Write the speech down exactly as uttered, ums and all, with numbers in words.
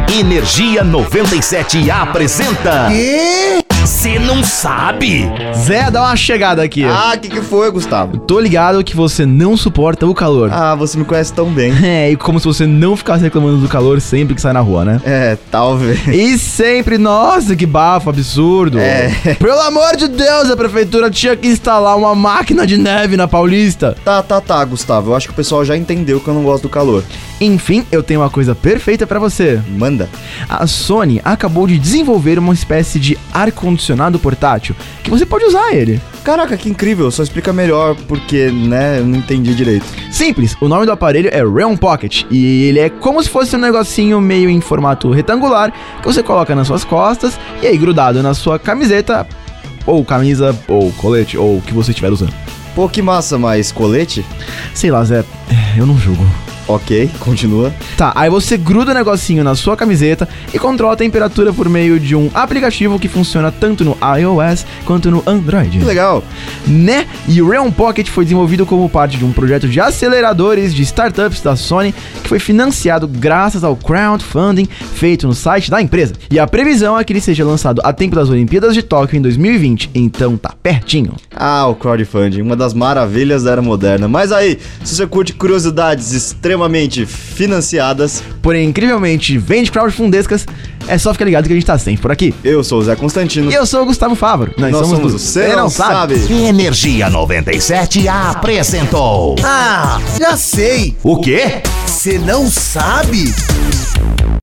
Energia noventa e sete apresenta... Quê? Você não sabe? Zé, dá uma chegada aqui. Ah, o que que foi, Gustavo? Tô ligado que você não suporta o calor. Ah, você me conhece tão bem. É, e como se você não ficasse reclamando do calor sempre que sai na rua, né? É, talvez. E sempre, nossa, que bafo absurdo. É. Pelo amor de Deus, a prefeitura tinha que instalar uma máquina de neve na Paulista. Tá, tá, tá, Gustavo. Eu acho que o pessoal já entendeu que eu não gosto do calor. Enfim, eu tenho uma coisa perfeita pra você. Manda. A Sony acabou de desenvolver uma espécie de ar-condicionado portátil que você pode usar ele. Caraca, que incrível. Só explica melhor porque, né, eu não entendi direito. Simples, o nome do aparelho é Realm Pocket e ele é como se fosse um negocinho meio em formato retangular que você coloca nas suas costas e aí grudado na sua camiseta, ou camisa, ou colete, ou o que você estiver usando. Pô, que massa, mas colete? Sei lá, Zé, eu não julgo. Ok, continua. Tá, aí você gruda o negocinho na sua camiseta e controla a temperatura por meio de um aplicativo que funciona tanto no iOS quanto no Android. Que legal. Né? E o Realm Pocket foi desenvolvido como parte de um projeto de aceleradores de startups da Sony que foi financiado graças ao crowdfunding feito no site da empresa. E a previsão é que ele seja lançado a tempo das Olimpíadas de Tóquio em dois mil e vinte, então tá pertinho. Ah, o crowdfunding, uma das maravilhas da era moderna. Mas aí, se você curte curiosidades extremamente financiadas, porém incrivelmente vende crowdfundescas, é só ficar ligado que a gente tá sempre por aqui. eu sou o Zé Constantino. E eu sou o Gustavo Fávaro. Nós, Nós somos, somos do o Cê Não Sabe. Energia noventa e sete apresentou... Ah, já sei. O quê? Você não sabe?